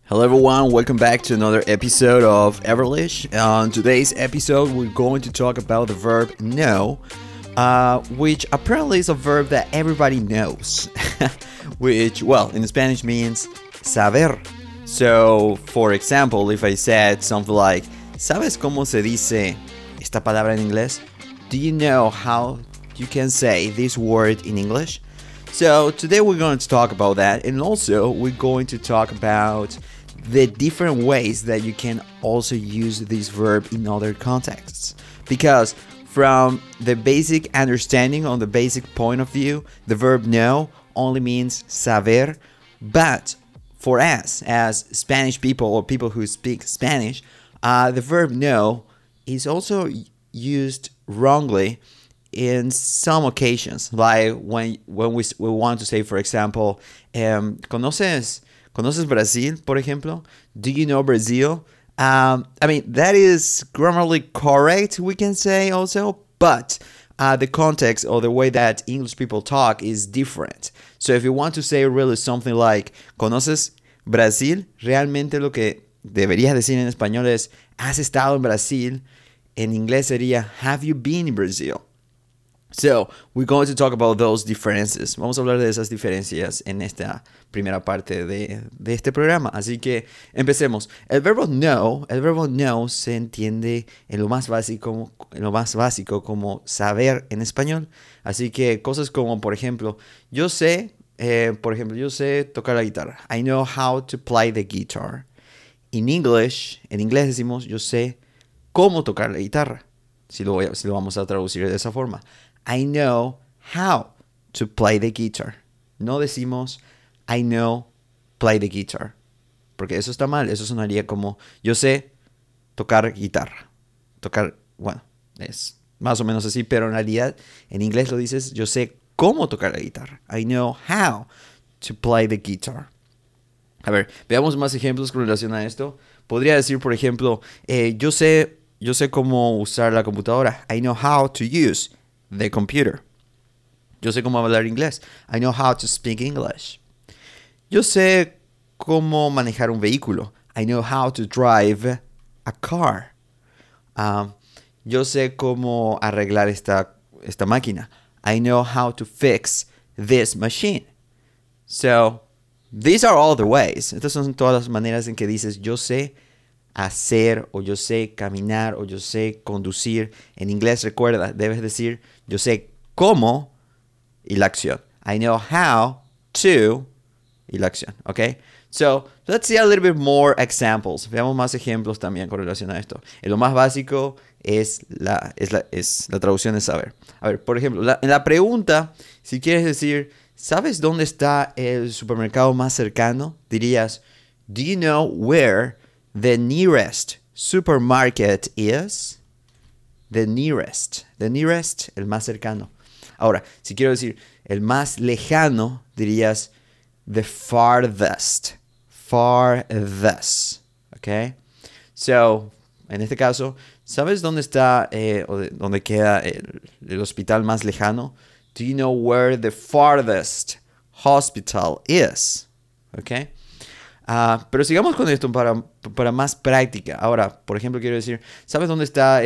Hello everyone, welcome back to another episode of Everlish. On today's episode, we're going to talk about the verb know, which apparently is a verb that everybody knows, which, well, in Spanish means saber. So, for example, if I said something like, ¿sabes cómo se dice esta palabra en inglés? Do you know how you can say this word in English? So, today we're going to talk about that, and also we're going to talk about the different ways that you can also use this verb in other contexts. Because from the basic understanding, on the basic point of view, the verb know only means saber, but for us as Spanish people or people who speak Spanish, the verb know is also used wrongly in some occasions, like when we want to say, for example, ¿Conoces Brazil, por ejemplo? Do you know Brazil? That is grammatically correct, we can say also, but the context or the way that English people talk is different. So if you want to say really something like, ¿Conoces Brasil? Realmente lo que deberías decir en español es, ¿has estado en Brasil? En inglés sería, have you been in Brazil? So, we're going to talk about those differences. Vamos a hablar de esas diferencias en esta primera parte de este programa. Así que empecemos. El verbo know se entiende en lo más básico como saber en español. Así que cosas como, por ejemplo, yo sé tocar la guitarra. I know how to play the guitar. En inglés decimos, yo sé cómo tocar la guitarra. Si lo vamos a traducir de esa forma. I know how to play the guitar. No decimos I know play the guitar. Porque eso está mal. Eso sonaría como yo sé tocar guitarra. Es más o menos así. Pero en realidad en inglés lo dices yo sé cómo tocar la guitarra. I know how to play the guitar. A ver, veamos más ejemplos con relación a esto. Podría decir, por ejemplo, yo sé cómo usar la computadora. I know how to use the computer. Yo sé cómo hablar inglés. I know how to speak English. Yo sé cómo manejar un vehículo. I know how to drive a car. Yo sé cómo arreglar esta máquina. I know how to fix this machine. So, these are all the ways. Estas son todas las maneras en que dices yo sé hacer, o yo sé caminar, o yo sé conducir. En inglés, recuerda, debes decir yo sé cómo y la acción. I know how to y la acción, ¿ok? So, let's see a little bit more examples. Veamos más ejemplos también con relación a esto. Lo más básico es la traducción de saber. A ver, por ejemplo, en la pregunta, si quieres decir, ¿sabes dónde está el supermercado más cercano? Dirías, do you know where the nearest supermarket is? The nearest, el más cercano. Ahora, si quiero decir el más lejano, dirías the farthest, ¿ok? So, en este caso, ¿sabes dónde está dónde queda el hospital más lejano? Do you know where the farthest hospital is? ¿Ok? Pero sigamos con esto para más práctica. Ahora, por ejemplo, quiero decir, ¿sabes dónde está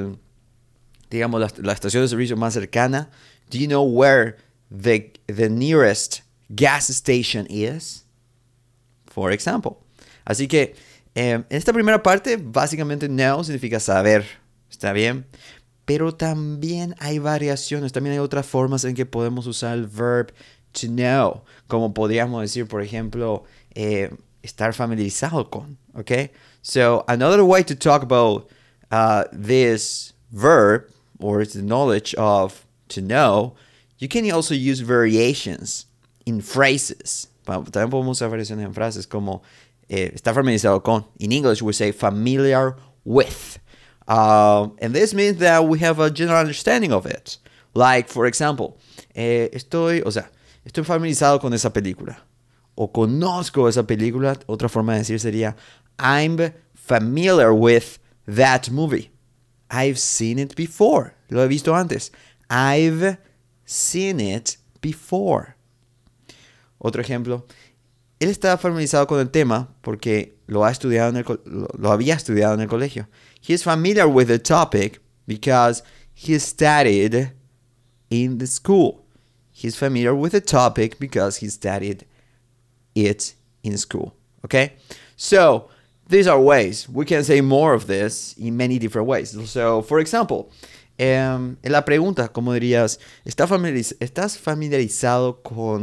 la estación de servicio más cercana? Do you know where the nearest gas station is? For example. Así que, en esta primera parte, básicamente know significa saber. ¿Está bien? Pero también hay variaciones. También hay otras formas en que podemos usar el verb to know. Como podríamos decir, por ejemplo, estar familiarizado con, okay? So, another way to talk about this verb, or the knowledge of to know, you can also use variations in phrases. También podemos usar variaciones en frases como estar familiarizado con. In English, we say familiar with. And this means that we have a general understanding of it. Like, for example, estoy familiarizado con esa película. O conozco esa película. Otra forma de decir sería I'm familiar with that movie. I've seen it before. Lo he visto antes. I've seen it before. Otro ejemplo. él estaba familiarizado con el tema porque lo había estudiado en el colegio. He is familiar with the topic because he studied in the school. He's familiar with the topic because he studied it in school. Okay? So, these are ways. We can say more of this in many different ways. So, for example, en la pregunta, ¿cómo dirías? ¿Estás familiarizado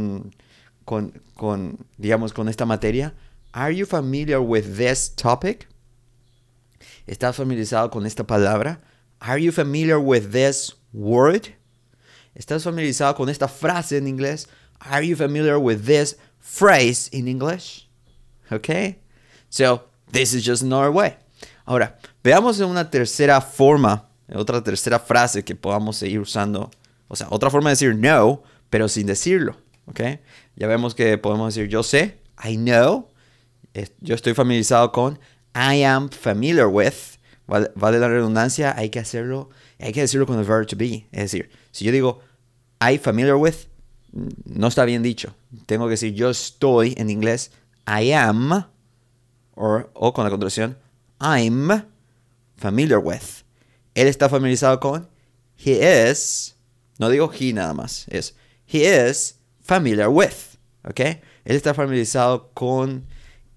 digamos, con esta materia? Are you familiar with this topic? ¿Estás familiarizado con esta palabra? Are you familiar with this word? ¿Estás familiarizado con esta frase en inglés? Are you familiar with this phrase in English? Okay? So, this is just another way. Ahora, veamos en una tercera forma, otra tercera frase que podamos seguir usando. O sea, otra forma de decir no, pero sin decirlo. Okay? Ya vemos que podemos decir yo sé, I know. Yo estoy familiarizado con, I am familiar with. Vale la redundancia, hay que decirlo con el verb to be. Es decir, si yo digo I familiar with, no está bien dicho. Tengo que decir yo estoy en inglés, I am, o con la contracción, I'm familiar with. Él está familiarizado con, he is, no digo he nada más, es he is familiar with. ¿Ok? Él está familiarizado con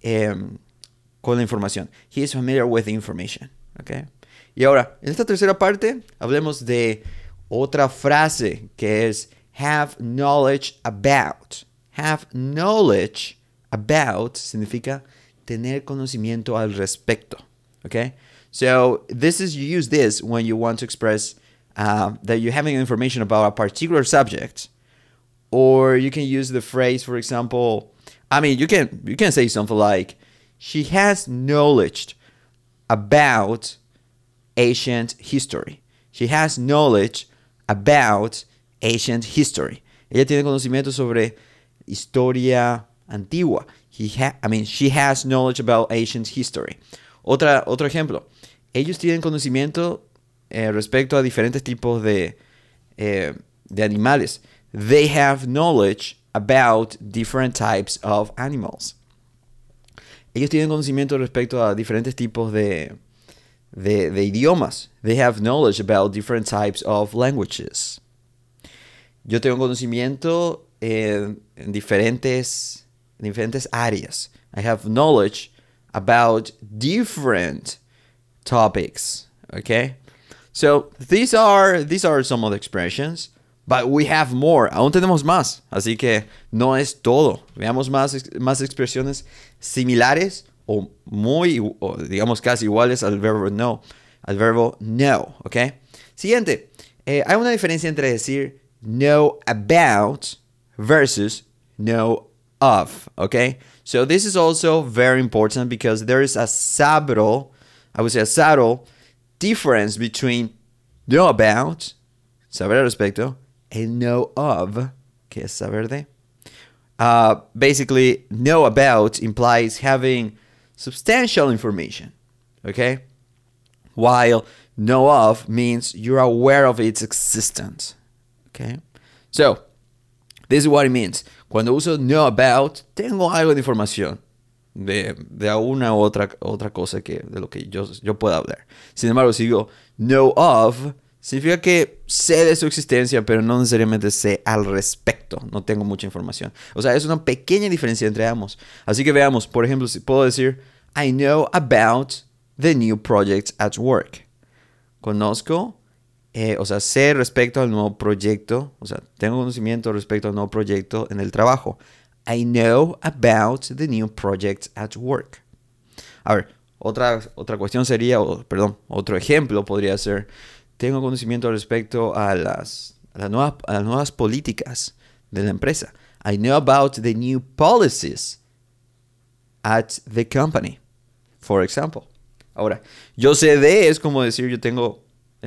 la información. He is familiar with the information. ¿Ok? Y ahora, en esta tercera parte, hablemos de otra frase que es have knowledge about. Have knowledge about significa tener conocimiento al respecto. Okay? So, you use this when you want to express that you're having information about a particular subject. Or you can use the phrase, for example, you can say something like, she has knowledge about ancient history. She has knowledge about ancient history. Ella tiene conocimiento sobre historia antigua. She has knowledge about ancient history. Otro ejemplo. Ellos tienen conocimiento respecto a diferentes tipos de animales. They have knowledge about different types of animals. Ellos tienen conocimiento respecto a diferentes tipos de idiomas. They have knowledge about different types of languages. Yo tengo conocimiento en diferentes áreas. I have knowledge about different topics. Okay? So these are some of the expressions. But we have more. Aún tenemos más. Así que no es todo. Veamos más expresiones similares o digamos casi iguales al verbo no. Al verbo no. ¿Ok? Siguiente. Hay una diferencia entre decir know about versus know of. ¿Ok? So this is also very important because there is a subtle difference between know about, saber al respecto, and know of, que es saber de. Basically, know about implies having substantial information, okay? While know of means you're aware of its existence, okay? So, this is what it means. Cuando uso know about, tengo algo de información de alguna u otra cosa de lo que yo pueda hablar. Sin embargo, si digo know of, significa que sé de su existencia, pero no necesariamente sé al respecto. No tengo mucha información. O sea, es una pequeña diferencia entre ambos. Así que veamos, por ejemplo, si puedo decir I know about the new project at work. Conozco, sé respecto al nuevo proyecto. O sea, tengo conocimiento respecto al nuevo proyecto en el trabajo. I know about the new project at work. A ver, otra cuestión sería, otro ejemplo podría ser, tengo conocimiento respecto a las nuevas políticas de la empresa. I know about the new policies at the company, for example. Ahora, yo sé de es como decir yo tengo,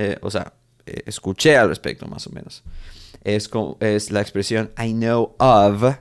escuché al respecto más o menos. Es la expresión I know of.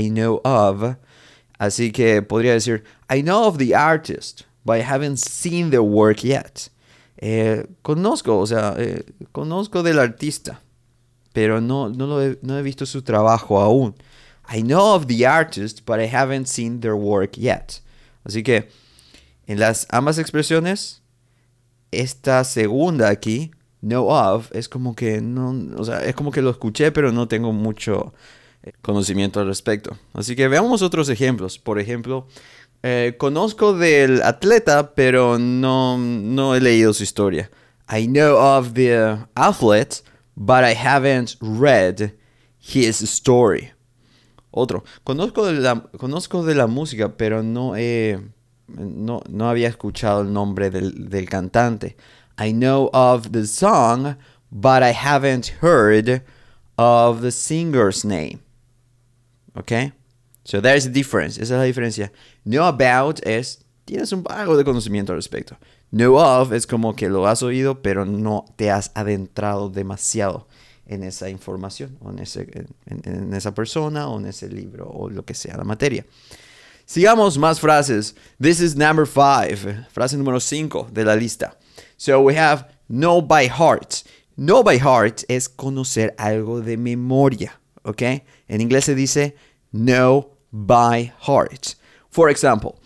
Así que podría decir I know of the artist, but I haven't seen their work yet. Conozco del artista, pero no he visto su trabajo aún. I know of the artist, but I haven't seen their work yet. Así que en las ambas expresiones, esta segunda aquí, know of, es como que no, o sea, es como que lo escuché, pero no tengo mucho conocimiento al respecto. Así que veamos otros ejemplos. Por ejemplo, conozco del atleta, pero no he leído su historia. I know of the athlete, but I haven't read his story. Otro, conozco de la música, pero no había escuchado el nombre del cantante. I know of the song, but I haven't heard of the singer's name. Okay? So there's a difference. Esa es la diferencia. Know about es, tienes algo de conocimiento al respecto. Know of es como que lo has oído, pero no te has adentrado demasiado en esa información, o en esa persona, o en ese libro, o lo que sea la materia. Sigamos más frases. This is number 5. Frase número 5 de la lista. So we have know by heart. Know by heart es conocer algo de memoria. ¿Ok? En inglés se dice know by heart. For example,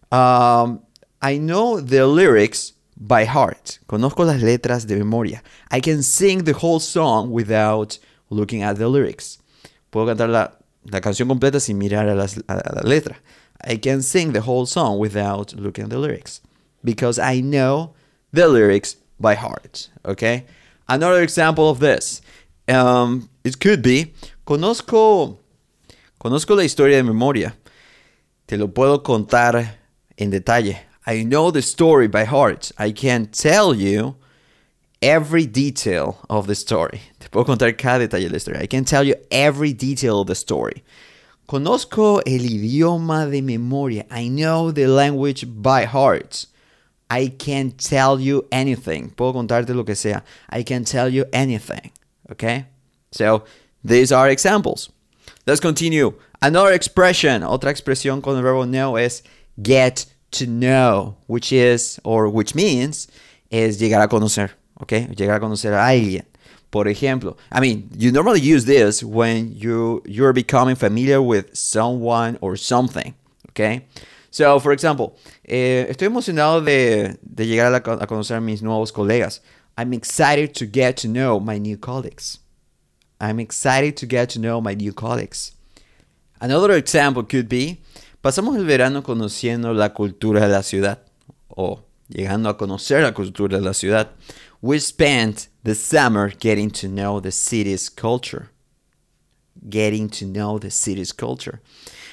I know the lyrics by heart. Conozco las letras de memoria. I can sing the whole song without looking at the lyrics. Puedo cantar la canción completa sin mirar a la letra. I can sing the whole song without looking at the lyrics. Because I know the lyrics by heart. Okay? Another example of this. It could be, conozco la historia de memoria. Te lo puedo contar en detalle. I know the story by heart. I can tell you every detail of the story. Te puedo contar cada detalle de la historia. I can tell you every detail of the story. Conozco el idioma de memoria. I know the language by heart. I can tell you anything. Puedo contarte lo que sea. I can tell you anything. Okay? So, these are examples. Let's continue. Another expression, otra expresión con el verbo know es get to know, which means es llegar a conocer, okay? Llegar a conocer a alguien. Por ejemplo, you normally use this when you're becoming familiar with someone or something, okay? So, for example, estoy emocionado de llegar a conocer a mis nuevos colegas. I'm excited to get to know my new colleagues. I'm excited to get to know my new colleagues. Another example could be, pasamos el verano conociendo la cultura de la ciudad, o llegando a conocer la cultura de la ciudad. We spent the summer getting to know the city's culture. Getting to know the city's culture.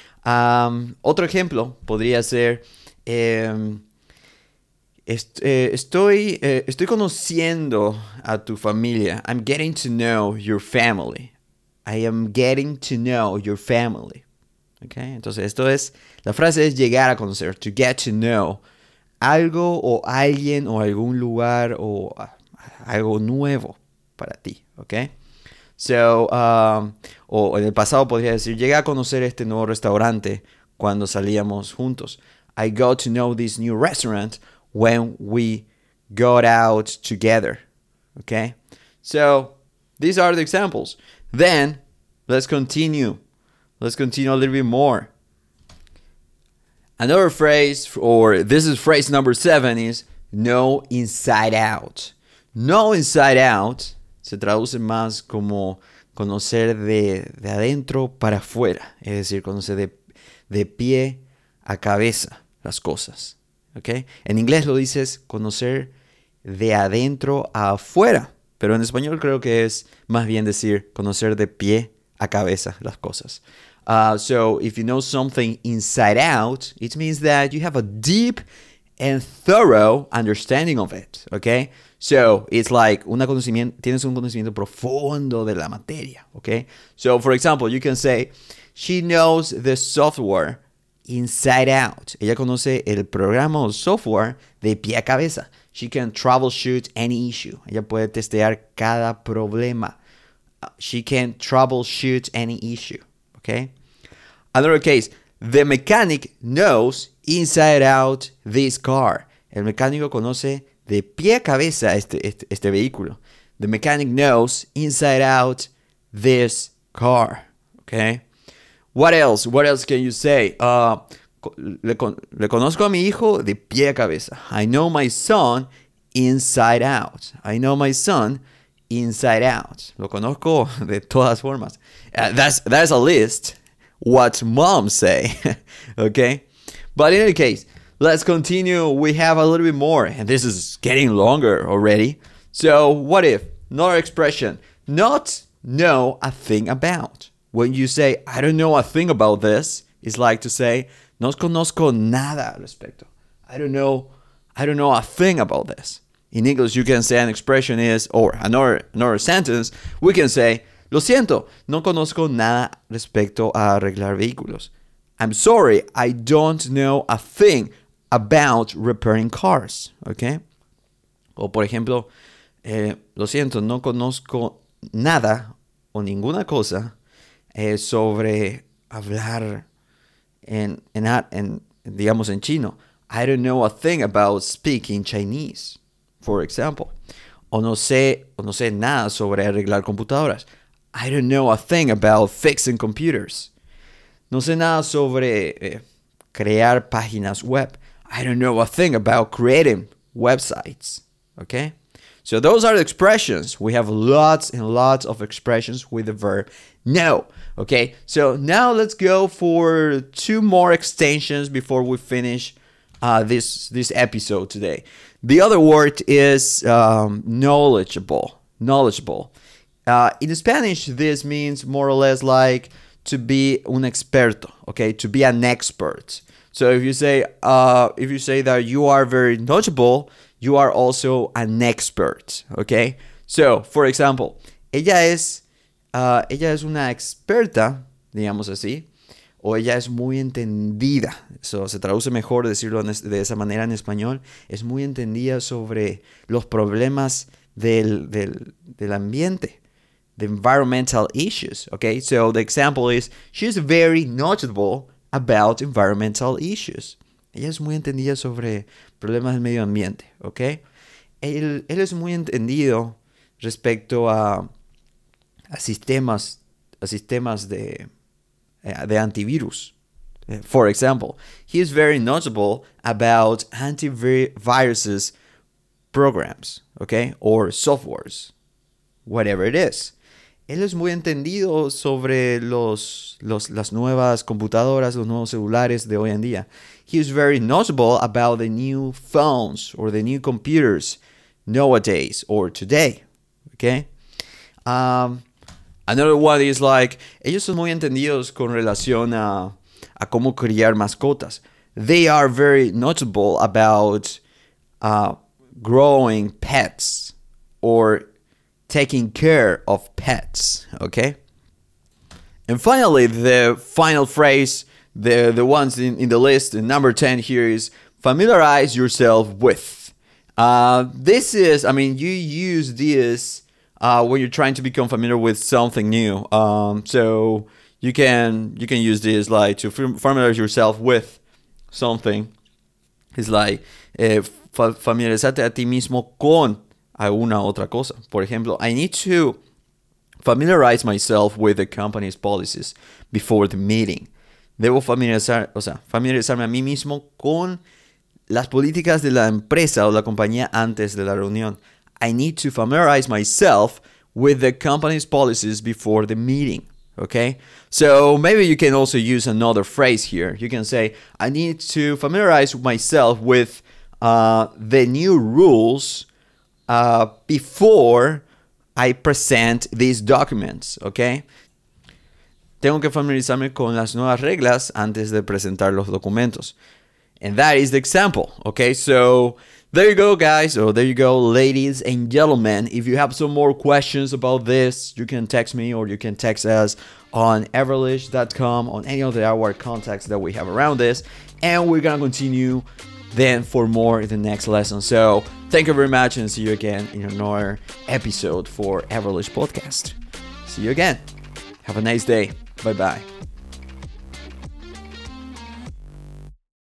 Otro ejemplo podría ser, estoy conociendo a tu familia. I'm getting to know your family. I am getting to know your family. Okay? Entonces, la frase es llegar a conocer, to get to know algo o alguien o algún lugar o algo nuevo para ti. Okay? So, o en el pasado podría decir, llegué a conocer este nuevo restaurante cuando salíamos juntos. I got to know this new restaurant when we got out together. Okay? So, these are the examples. Then, let's continue. Let's continue a little bit more. Another phrase, or this is phrase number 7, is know inside out. Know inside out se traduce más como conocer de adentro para afuera. Es decir, conocer de pie a cabeza las cosas. ¿Okay? En inglés lo dices conocer de adentro a afuera. Pero en español creo que es más bien decir conocer de pie a cabeza las cosas. So if you know something inside out, it means that you have a deep and thorough understanding of it. Okay? So it's like tienes un conocimiento profundo de la materia. Okay? So for example, you can say, she knows the software inside out. Ella conoce el programa o software de pie a cabeza. She can troubleshoot any issue. Ella puede testear cada problema. She can troubleshoot any issue. Okay? Another case. The mechanic knows inside out this car. El mecánico conoce de pie a cabeza este vehículo. The mechanic knows inside out this car. Okay? What else? What else can you say? Le conozco a mi hijo de pie a cabeza. I know my son inside out. I know my son inside out. Lo conozco de todas formas. That's a list. What moms say. Okay? But in any case, let's continue. We have a little bit more. And this is getting longer already. So, what if? Another expression. Not know a thing about. When you say, I don't know a thing about this, it's like to say, no conozco nada al respecto. I don't know a thing about this. In English, you can say an expression is, or another sentence, we can say, lo siento, no conozco nada respecto a arreglar vehículos. I'm sorry, I don't know a thing about repairing cars. Okay? O por ejemplo, lo siento, no conozco nada o ninguna cosa sobre hablar digamos en chino. I don't know a thing about speaking Chinese, for example. O no sé nada sobre arreglar computadoras. I don't know a thing about fixing computers. No sé nada sobre crear páginas web. I don't know a thing about creating websites. Okay? So those are the expressions. We have lots and lots of expressions with the verb know. Okay? So now let's go for 2 more extensions before we finish this episode today. The other word is knowledgeable. Knowledgeable. In Spanish, this means more or less like to be un experto. Okay? To be an expert. So if you say that you are very knowledgeable, you are also an expert, okay? So, for example, ella es una experta, digamos así, o ella es muy entendida. Eso se traduce mejor decirlo de esa manera en español. Es muy entendida sobre los problemas del ambiente, the environmental issues, okay? So the example is, she's very knowledgeable about environmental issues. Ella es muy entendida sobre problemas del medio ambiente, ¿ok? Él es muy entendido respecto a sistemas de antivirus. For example, he is very knowledgeable about antiviruses programs, ¿ok? Or softwares, whatever it is. Él es muy entendido sobre las nuevas computadoras, los nuevos celulares de hoy en día. He is very knowledgeable about the new phones or the new computers nowadays or today. Okay? Another one is like, ellos son muy entendidos con relación a cómo criar mascotas. They are very knowledgeable about growing pets or taking care of pets, okay? And finally, the final phrase, the ones in the list, number 10 here is familiarize yourself with. This is, you use this when you're trying to become familiar with something new. So you can use this like to familiarize yourself with something. It's like familiarizarte a ti mismo con alguna otra cosa. Por ejemplo, I need to familiarize myself with the company's policies before the meeting. Debo familiarizarme a mí mismo con las políticas de la empresa o la compañía antes de la reunión. I need to familiarize myself with the company's policies before the meeting. Okay? So maybe you can also use another phrase here. You can say, I need to familiarize myself with the new rules before I present these documents, okay? Tengo que familiarizarme con las nuevas reglas antes de presentar los documentos. And that is the example, okay? So there you go, guys, or there you go, ladies and gentlemen. If you have some more questions about this, you can text me or you can text us on everlish.com, on any of our contacts that we have around this. And we're going to continue then for more in the next lesson. So thank you very much and see you again in another episode for Everlish Podcast. See you again. Have a nice day. Bye-bye.